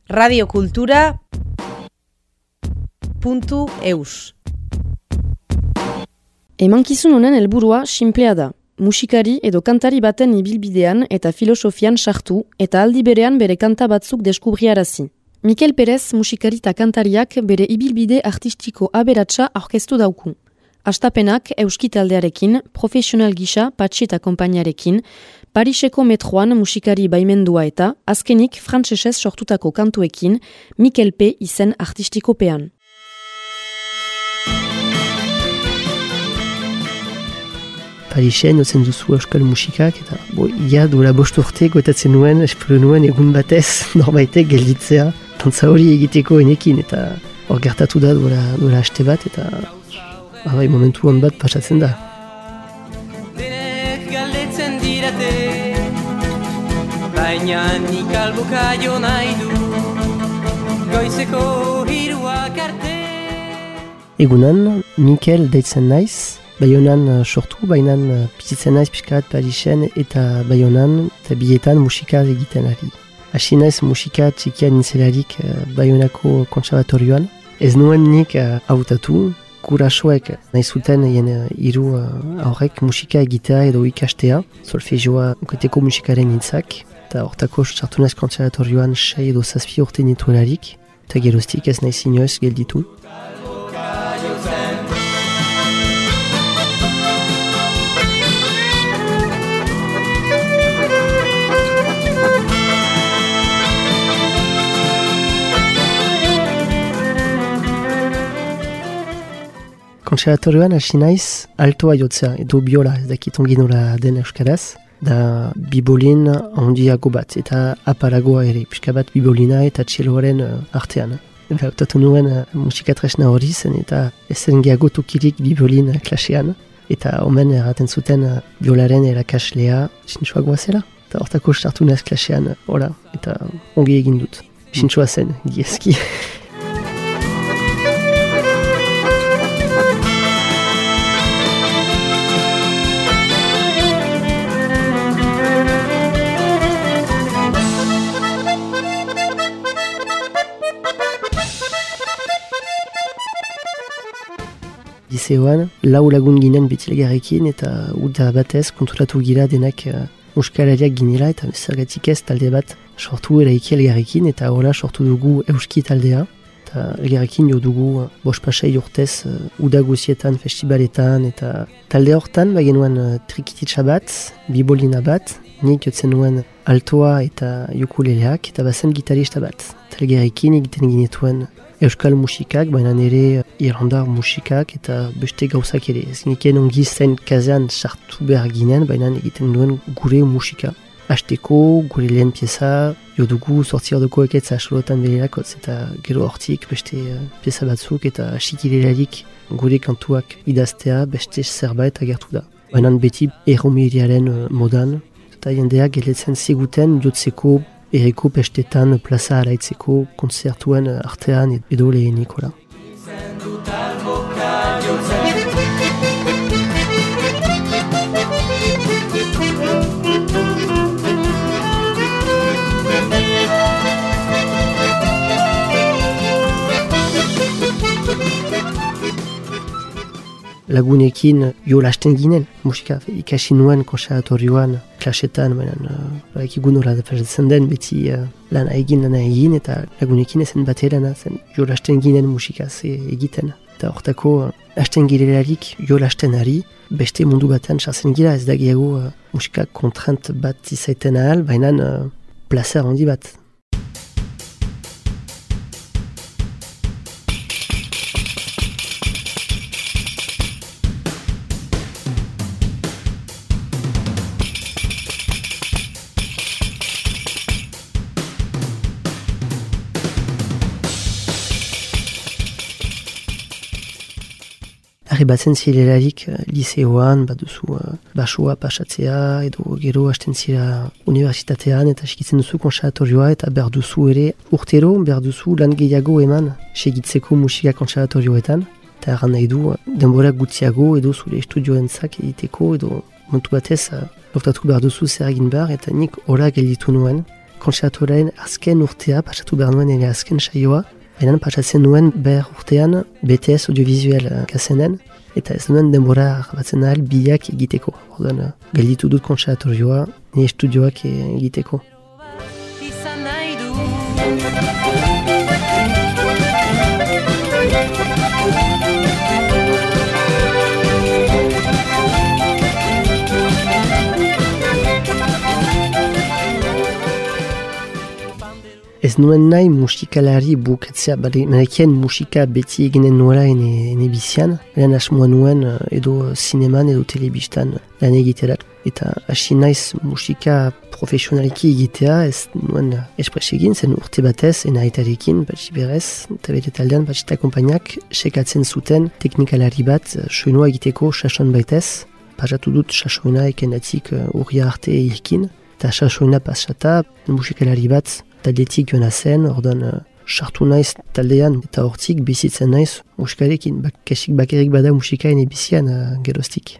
radiokultura.eus. Emankizun honen helburua sinplea da. Musikari edo kantari baten ibilbidean eta filosofian sartu eta aldi berean bere kanta batzuk deskubriarazi. Mikel Perez musikari eta kantariak bere ibilbide artistiko aberatsa aurkeztu dauku. Astapenak euski taldearekin, profesional gisa Patxi eta konpainiarekin, Pariseko metroan musikari baimendua eta, azkenik frantsesez sortutako kantuekin, Mikel P. izen artistikopean. Parisen ozen duzu euskal musikak, eta duela 5 urte gotatzen nuen, espero nuen egun batez norbaitek gelditzea, dantza hori egiteko enekin, eta hor gertatu da duela haste bat, eta momentu hon bat pasatzen da. Denek galdetzen dirate, baina nik alboka jo nahi du, goizeko hiruak arte. Egunan, Mikel deitzen naiz, Baionan sortu, bainan bizitzen naiz pixkat Parisen eta Baionan eta bietan musika egiten ari. Hasi naiz musika txikian nintzelarik Baionako kontserbatorioan. Ez nuen nik hautatu, gurasoek nahi zuten hiru aurrek musika egitea edo ikastea, solfegioa ukateko musikaren nintzak, eta hortako sartu naiz kontserbatorioan 6 edo 7 urte nituelarik, eta geroztik ez naiz inoez gelditu. Kontserbatorioan hasi naiz altoa jotzea edo biola, ez dakit ongi nola den euskaraz, da bibolin handiago bat eta apalagoa ere, pixka bat bibolina eta txeloaren artean. Hautatu nuen musikatresna hori zen eta ezen gehiago tokirik bibolin klasean, eta omen erraten zuten biolaren erakaslea sintxoagoa zela. Eta hortako sartu naiz klasean, eta ongi egin dut. Sintxoa zen, giezki. Liceoan, 4 lagun ginen betilegarekin eta uda batez konturatu gira denak muskalariak ginela eta zergatik ez talde bat sortu eraiki elgarrekin eta hola sortu dugu euski taldea. Eta elgarrekin jo dugu 5-6 urtez uda guzietan, festibaletan eta talde hortan bagenuen trikititsa bat, bibolina bat, nik jotzen nuen altoa eta ukuleleak eta bazen gitarista bat. Eta elgarrekin egiten ginetuen euskal musikak, baina nire irlandar musikak eta beste gauzak ere. Ez niken ongi zen kazean sartu behar ginen, baina egiten duen gure musika. Hasteko, gure lehen pieza, jo dugu 8 ordoko eketza asolotan bererakotz, eta gero hortik beste pieza batzuk eta asikilelarik gure kantuak idaztea beste zerbait agertu da. Baina beti erromeriaren modan, eta jendeak geletzen ziguten jotzeko erreko pestetan plaza araitzeko konzertuen artean edo lehenikola. Lagunekin jo lasten ginen, musika ikasi nuen konserbatorioan, klasetan, ekigun nola pasatzen den, beti lana egin, eta lagunekin ezen batera zen jo lasten ginen musikaz egiten. Eta hortako, lasten girelarik jo lasten ari, beste mundu batean sartzen gira, ez da gehiago musika kontrant bat izaiten ahal, baina plazer handi bat. Arribatzen zirelarik liceoan, baduzu basoa pasatzea, edo gero hasten zira unibertsitatean eta segitzen duzu konserbatorioa eta behar duzu ere urtero, behar duzu lan gehiago eman segitzeko musika konserbatorioetan. Eta erran nahi du denbora gutxiago edo zure estudioentzak egiteko edo montu batez hautatu behar duzu zer egin behar eta nik hola gelditu nuen. konservatorearen azken urtea, pasatu behar nuen ere azken saioa, baina pasatzen nuen behar urtean BTS audiovisuel kasenen, eta ez nuen denbora batzen ahal biak egiteko. Orduan, gelditu dut konservatorioa, ni estudioak egiteko. Izan nahi du. Ez nuen nahi musikalari bukatzea, barekien musika beti eginen nuela ene bizian, lehen asmoa nuen edo zineman edo telebistan lan egiterak. Eta hasi naiz musika profesionaliki egitea, ez nuen espres egin, zen urte batez, ena aitarekin, batxi berez, eta bere taldean batxita kompainak sekatzen zuten teknikalari bat soinua egiteko sasoin baitez. Pasatu dut sasoina ekendatik urria arte ekin, eta sasoina pasata musikalari bat taldetik joan zen, orduan sartu naiz taldean eta hortik bizitzen naiz musikarekin, kesik bakerik bada musika ene bizian geroztik.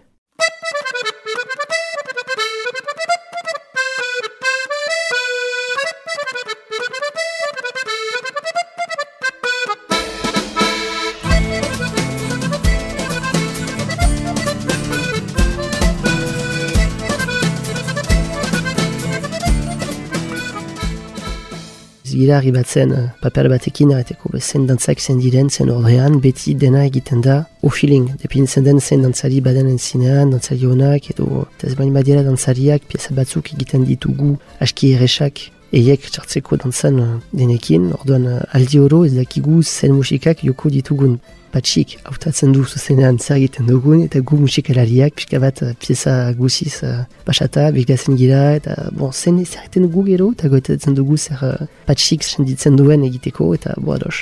Gira arribatzen paper batekin erreteko zen dantzak zen diren, zen ordrean, beti dena egiten da o-feeling. Depintzen den zen dantzari baden entzinean, dantzari honak, edo ez bain badiela dantzariak, pieza batzuk egiten ditugu aski erresak, eiek txartzeko dantzan denekin, orduan aldi oro ez dakigu zen musikak joko ditugun. Patxik hautatzen du zuzenean zer egiten dugun, eta gu musikalariak pixka bat pieza guziz pasata, begiratzen gira, eta zen zer egiten dugu gero, eta goetatzen dugu zer patxik senditzen duen egiteko, eta ados.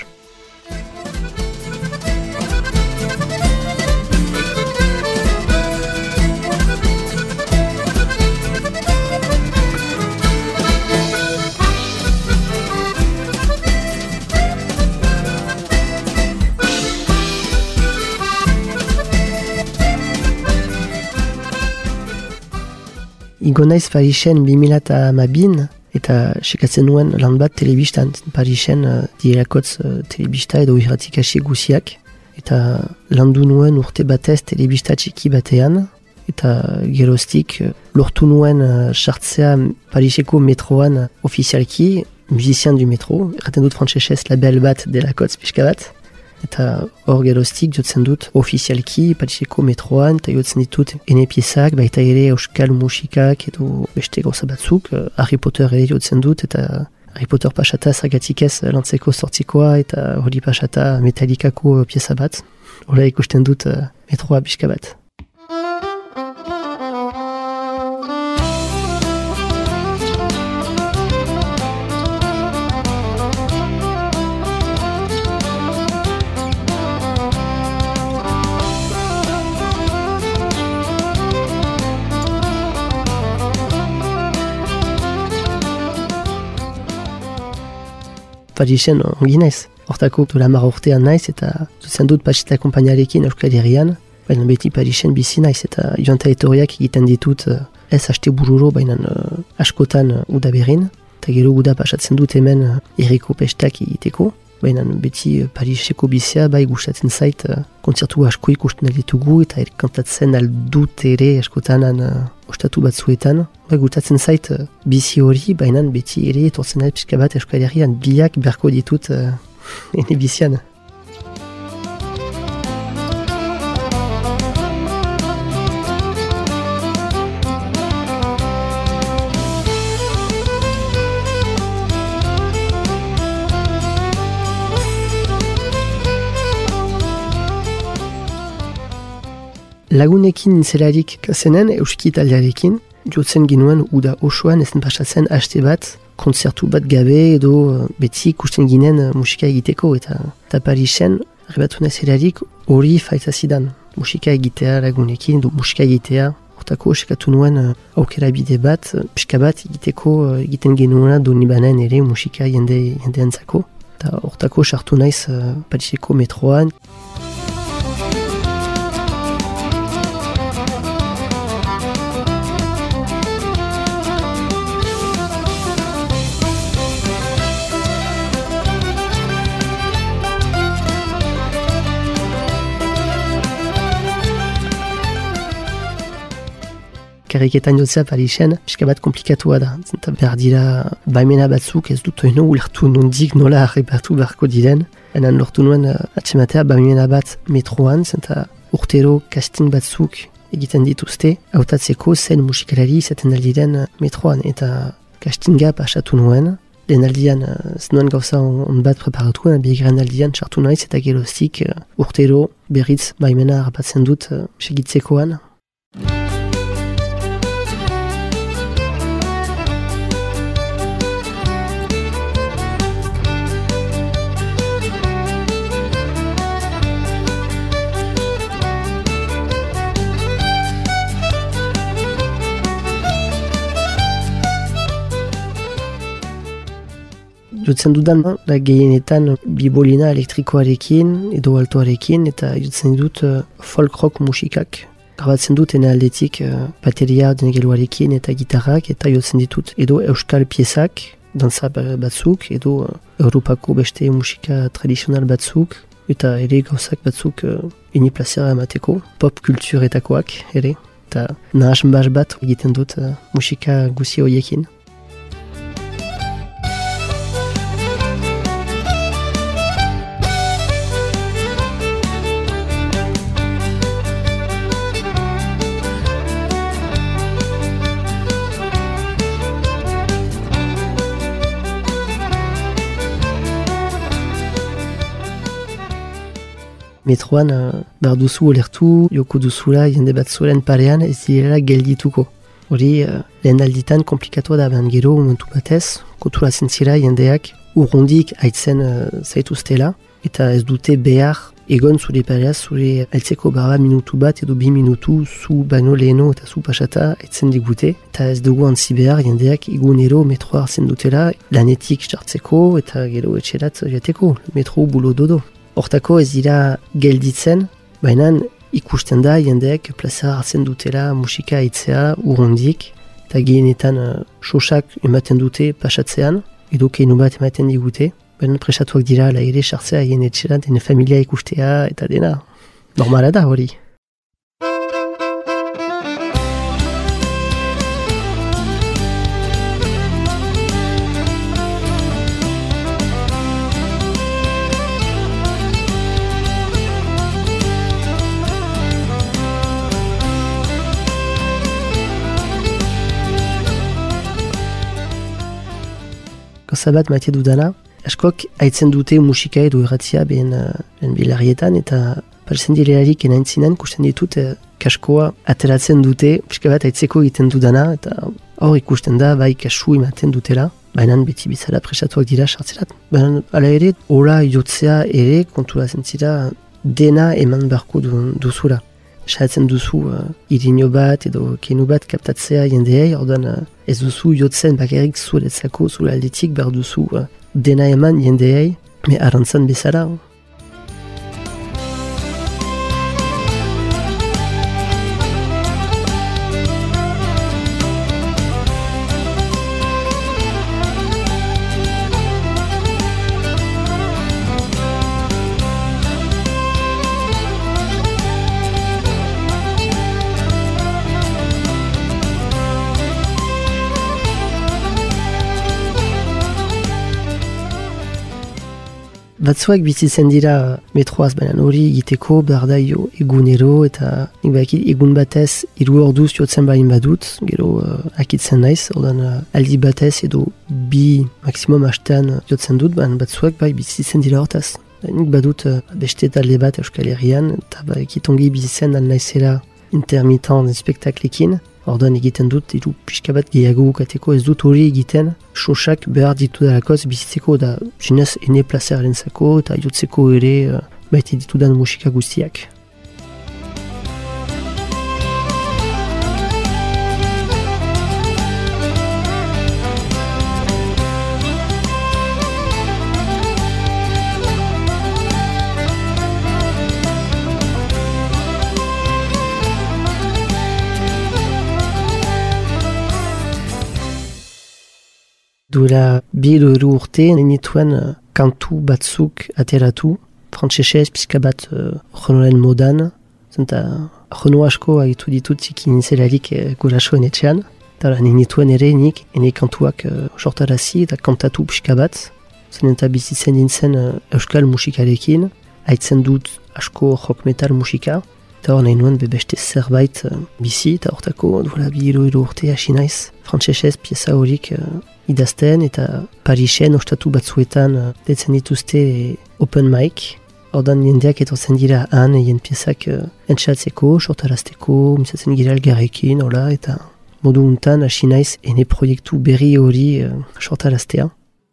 Igo naiz Parisen 2012 eta sekatzen nuen lan bat telebistan. Parisen dielakotz telebista edo irratik hasi guziak. Eta landu nuen urte batez telebista txiki batean. Eta geroztik lortu nuen sartzea Pariseko metroan ofizialki, musician du metro. Erraten dut frantsesez label bat delakotz pixka bat. Eta hor geroztik jotzen dut ofizialki Pariseko metroan, eta jotzen ditut ene piezak, baita ere euskal musikak edo beste gauza batzuk. Harry Potter ere jotzen dut, eta Harry Potter pasata zergatik ez lantzeko sortzikoa, eta hori pasata Metallicako pieza bat. Hola ikusten dut metroa pixka bat. Parisen ongi naiz. Hortako dola 10 urtean naiz eta zuzen dut patxita kompainarekin Euskal Herrian. Baina beti Parisen bizi naiz eta joan eta etorriak egiten ditut ez haste bururo, baina askotan udaberrin. Eta gero uda pasatzen dut hemen herriko pestak egiteko. Baina beti Pariseko bizia bai gustatzen zait kontzertu asko ikusten ditugu eta kantatzen aldut ere askotan ostatu batzuetan. Bai gustatzen zait bizi hori, baina beti ere etortzen da pixka bat Euskal Herrian biak berko ditut ene bizian. Lagunekin zelarik kasenen euski taldearekin, jotzen ginuen uda osoan ezen pasatzen haste bat, kontzertu bat gabe edo beti ikusten ginen musika egiteko eta Parisen, arribatu zelarik hori faitazidan. Musika egitea lagunekin, edo musika egitea, hortako eskatu nuen aukera bide bat, pixka bat egiteko egiten genuena Donibanen ere musika jendeantzako. Eta hortako sartu naiz Pariseko metroan. bakarriketan jotzea Parisen, pixka bat komplikatua da. Zenta behar dira baimena batzuk ez dut oino ulertu nondik nola arrepartu beharko diren. Enan lortu nuen atxematea baimena bat metroan, zenta urtero casting batzuk egiten dituzte, hautatzeko zen musikalari izaten aldiren metroan, eta castinga pasatu nuen. Lehen aldian ez nuen gauza on bat preparatu, bigarren aldian txartu naiz eta geroztik urtero berriz baimena harrapatzen dut segitzekoan. Jotzen dudan, da gehienetan bibolina elektrikoarekin edo altoarekin eta jotzen dut folk rock musikak. Grabatzen dut ene aldetik bateria denegeluarekin eta gitarrak eta jotzen ditut edo euskal piezak, danza batzuk edo Europako beste musika tradizional batzuk eta ere gauzak batzuk ini plazera emateko, pop kulturetakoak ere. Eta nahas bat egiten dut musika guzi horiekin. Metroan behar duzu olertu, joko duzula jende bat zuren parean ez direla geldituko. Hori lehen alditan komplikatua da behan gero momentu batez, konturatzen zira jendeak urrundik haitzen zaituztela eta ez dute behar egon zure pareaz zure heltzeko barra minutu bat edo 2 minutu zu baino leheno eta zu pasata haitzen digute eta ez dugu antzi behar jendeak egunero metroa hartzen dutela lanetik jartzeko eta gero etxerat jateko, metro bulo dodo. Hortako ez dira gelditzen, baina ikusten da jendeak plaza hartzen dutela musika aitzea urrundik eta gehienetan sosak ematen dute pasatzean, edo keinu bat ematen digute, baina presatuak dira la ere sartzea hien etxeran, dene familia ikustea eta dena. Normala da hori. Gauza bat maite dudana, askok haitzen dute musika edo erratzia behen bilarrietan eta parzen direlarik enaintzinen kusten ditut kaskoa ateratzen dute, pixka bat haitzeko egiten dudana eta hor ikusten da bai kasu ematen dutela, baina beti bizala presatuak dira sartzerat. Baina ala ere, hola jotzea ere konturatzen zira dena eman beharko duzula. Saiatzen duzu irino bat edo keinu bat kaptatzea jendeei, ordan ez duzu jotzen bakarrik zuretzako zure aldetik behar duzu dena eman jendeei, me arantzan bezala. Batzuak bizitzen dira metroaz, baina hori egiteko behar da egunero eta nik bakit egun batez 3 orduz jotzen bain badut, gero akitzen naiz, ordan aldi batez edo 2 maksimum hastean jotzen dut, baina batzuak bai bizitzen dira hortaz. Nik badut beste talde bat Euskal Herrian eta bakit ongi bizitzen naizela intermitent spektaklekin. Ordan egiten dut, pixka bat gehiago bukateko ez dut hori egiten, sosak behar ditu dalakoz bizitzeko da zinez ene plazeraren zako eta jotzeko ere baite ditudan musika guztiak. Duela 2 urte nenituen kantu batzuk ateratu, frantsesez pixka bat jonoren modan, Zenta, jono asko agitu ditut ziki nintzelarik gurasoen etxean. Eta nik nituen ere nik, ene kantuak sortarazi eta kantatu pixka bat. Zen eta bizitzen nintzen euskal musikarekin, haitzen dut asko rock metal musika. Eta hor nahi nuen beste zerbait bizi, eta hortako duela 2 urte hasi naiz. Frantsesez pieza horik idazten eta Parisen ostatu batzuetan detzen dituzte open mic. Ordan jendeak etortzen dira han egin piezak entxatzeko, sortarazteko, mintzatzen gira elgarrekin, hola, eta modu untan hasi naiz ene proiektu berri hori sortaraztea.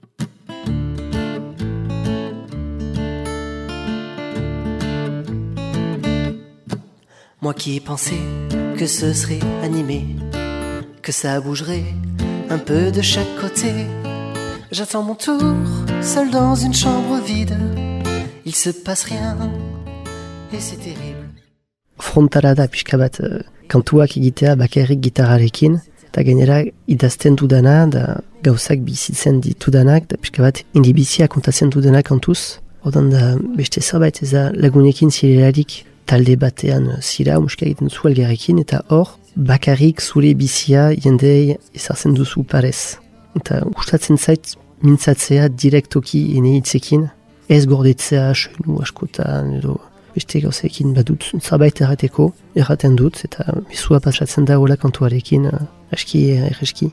Moi qui pensais que ce serait animé, que ça bougerait un peu de chaque côté. J'attends mon tour, seul dans une chambre vide. Il se passe rien, et c'est terrible. Frontala da pixka bat kantuak egitea bakarrik gitarrarekin, eta gainera idazten dudana, da gauzak bizitzen ditudanak, da pixka bat indibizia kontatzen dudana kantuz. Odan da beste zerbait ez da lagunekin zirelarik talde batean zira, musika egiten zu elgarrekin, eta hor bakarrik zure bizia jendei ezartzen duzu parez. Eta gustatzen zait mintzatzea direktoki ene hitzekin, ez gordetzea soinu askotan edo beste gauzeekin badut zerbait erraten dut, eta mezua pasatzen da hola kantuarekin aski erreski.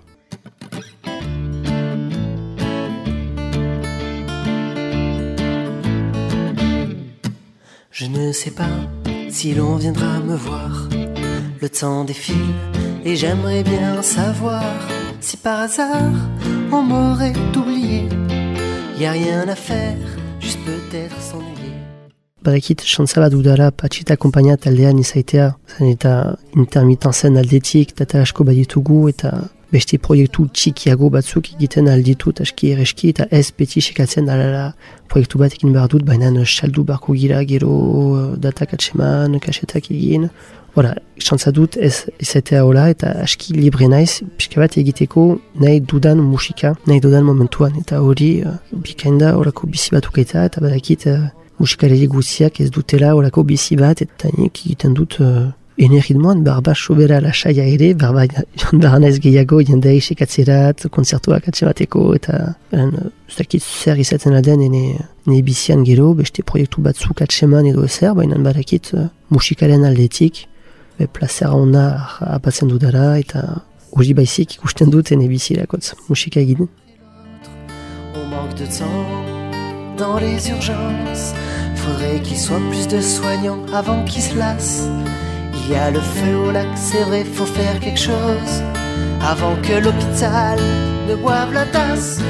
Je ne sais pas si l'on viendra me voir. Le temps défile et j'aimerais bien savoir si par hasard on m'aurait oublié. Y a rien à faire, juste peut-être s'ennuyer. Badakit, chantza bat dudala patxita kompainia taldean izaitea, zen eta intermitenzen aldetik, data asko baditugu, eta beste proiektu txikiago batzuk egiten alditut aski erreski, eta ez beti sekatzen alala proiektu bat egin behar dut, baina saldu barko gira, gero datak atseman, kasetak egin. Hora, chantza dut ez izatea hola, eta aski libre naiz, pixka bat egiteko nahi dudan musika, nahi dudan momentuan, eta hori bikainda horako bizi batukaita, eta badakit musikareli guziak ez dutela horako bizi bat, eta nik egiten dut ene ritmoan, barba sobera lasaia ere, barba joan naiz gehiago jendei sekatzerat, konzertuak atsemateko, eta ez dakit zer izaten aden ene bizian gero, beste proiektu batzuk atseman edo ezer, baina badakit musikaren aldetik, plazera ona apatzen dudara, eta hori baizik ikusten dut ene bizirakotz musika egiten. On manque de temps dans les urgences. Faudrait qu'il soit plus de soignants avant qu'ils se lassent. Il y a le feu au lac, c'est vrai, faut faire quelque chose avant que l'hôpital ne boive la tasse.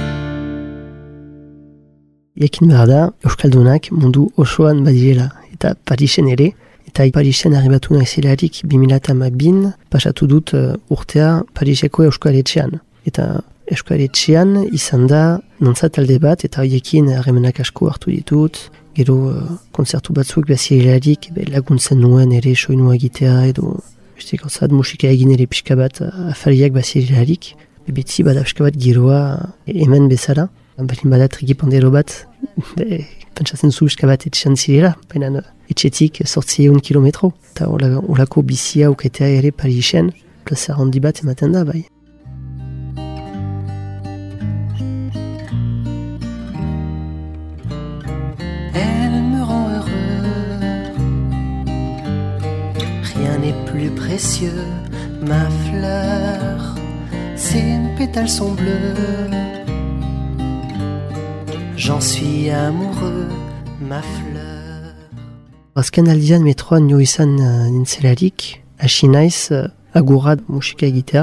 Jakin behar da, Euskaldunak mundu osoan badirela, eta Parisen ere, eta Parisen arribatu naizelarik 2012 pasatu dut urtea Pariseko Euskaletxean. Eta Euskaletxean izan da nantza talde bat, eta horiekin harremanak asko hartu ditut, gero konzertu batzuk bazirelarik laguntzen nuen ere soinua egitea, edo beste gauzat musika egin ere pixka bat afariak bazirelarik, betzi bada pixka bat giroa hemen bezala, balin badat rigipandero bat, pentsatzen zu pixka bat etxean zirela, baina etxetik 800 kilometro, eta olako bizia uketea ere Parisen, plazera handi bat ematen da, bai. Elle me rend heureux, rien n'est plus précieux, ma fleur, ses pétales sont bleus, j'en suis amoureux, ma fleur. Azken aldian metroan nio izan nintzelarik, hasi naiz agurra musika egitea,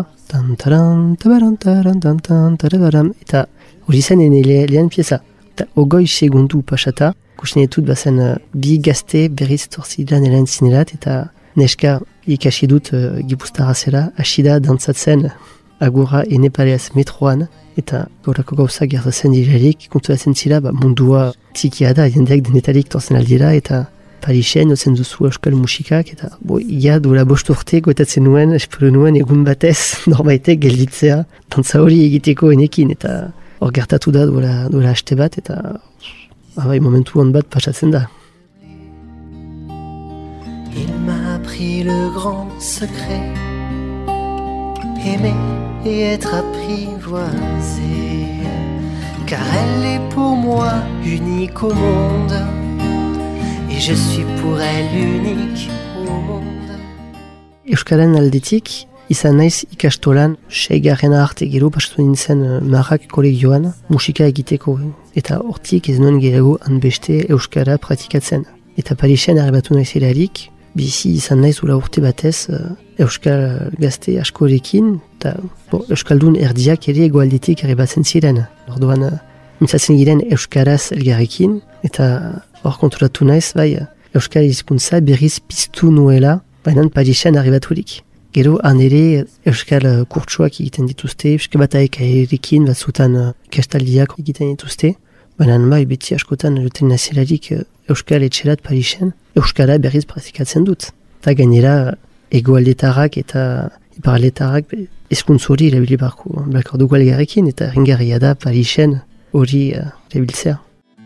eta hori zen ene lehen pieza. Eta 20 segundu pasata, kusten ditut bazen bi gazte berriz torzidan elen zinerat, eta neska ikasi dut Gipuztarra zela, hasi da dantzatzen agurra ene pareaz metroan, eta gaurako gauza gertatzen direrik, konturatzen zira mundua txikia da, jendeak denetarik torzen aldira, eta Parisen ozen duzu euskal musikak, eta ia duela 5 urte goetatzen nuen, espero nuen egun batez norbaitek gelditzea, dantza hori egiteko enekin, eta hor gertatu da duela haste bat, eta momentu hon bat pasatzen da. Il appris le grand secret. Aimer et être apprivoisé, car elle est pour moi unique au monde, et je suis pour elle unique au monde. Euskaren aldetik, izan naiz ikastolan, 6. arte gero pasatu nintzen Marrak kolegioan musika egiteko, eta hortik ez nuen gehiago hanbeste Euskara pratikatzen. Eta Parisen arribatu naizelarik, bizi izan naiz ula urte batez Euskal gazte askorekin, eta Euskaldun erdiak ere egoaldetik arribatzen ziren. Orduan, mintzatzen giren Euskaraz elgarrekin, eta hor konturatu naiz, bai, Euskal hizkuntza berriz piztu nuela, baina Parisen arribaturik. Gero, han ere Euskal kurtsuak egiten dituzte, Euskal bataik erekin batzutan kastaldiak egiten dituzte, baina bai, beti askotan juten nazelarik Euskal etxerat Parisen, Euskara berriz praktikatzen dut. Eta gainera, egoaldetarrak eta iparaldetarrak ezkuntz hori erabili barko dugu elgarrekin, eta ringarria da Parisen hori erabiltzea.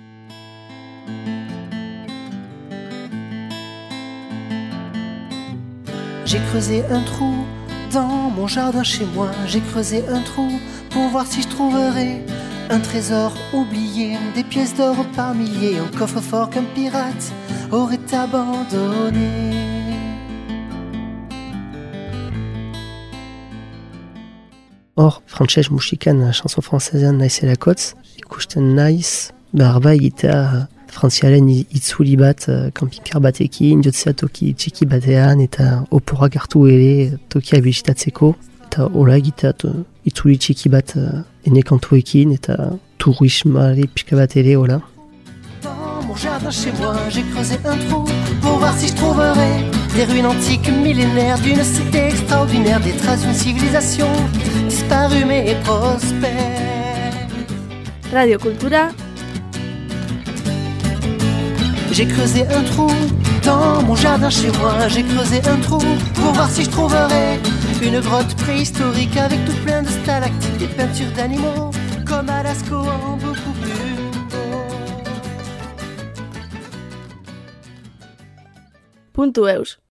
J'ai creusé un trou dans mon jardin chez moi. J'ai creusé un trou pour voir si je trouverais un trésor oublié, des pièces d'or par milliers, un coffre-fort qu'un pirate aurait abandonné. Hor, frantses musikan chanson francesean naizelakotz, ikusten naiz, barba egitea frantziaren itzuli bat, kampikar batekin, jotzea toki txiki batean, eta oporak hartu ere tokia bisitatzeko, eta hola egitea itzuli txiki bat ene kantuekin, eta turismari pixka bat ere hola. Dans mon jardin chez moi, j'ai creusé un trou pour voir si je trouverais des ruines antiques millénaires d'une cité extraordinaire, des traces d'une civilisation disparue mais prospère. Radio Kultura. J'ai creusé un trou dans mon jardin chez moi. J'ai creusé un trou pour voir si je trouverais une grotte préhistorique avec tout plein de stalactites, des peintures d'animaux comme à Lascaux en beaucoup plus beau. Puntu eus.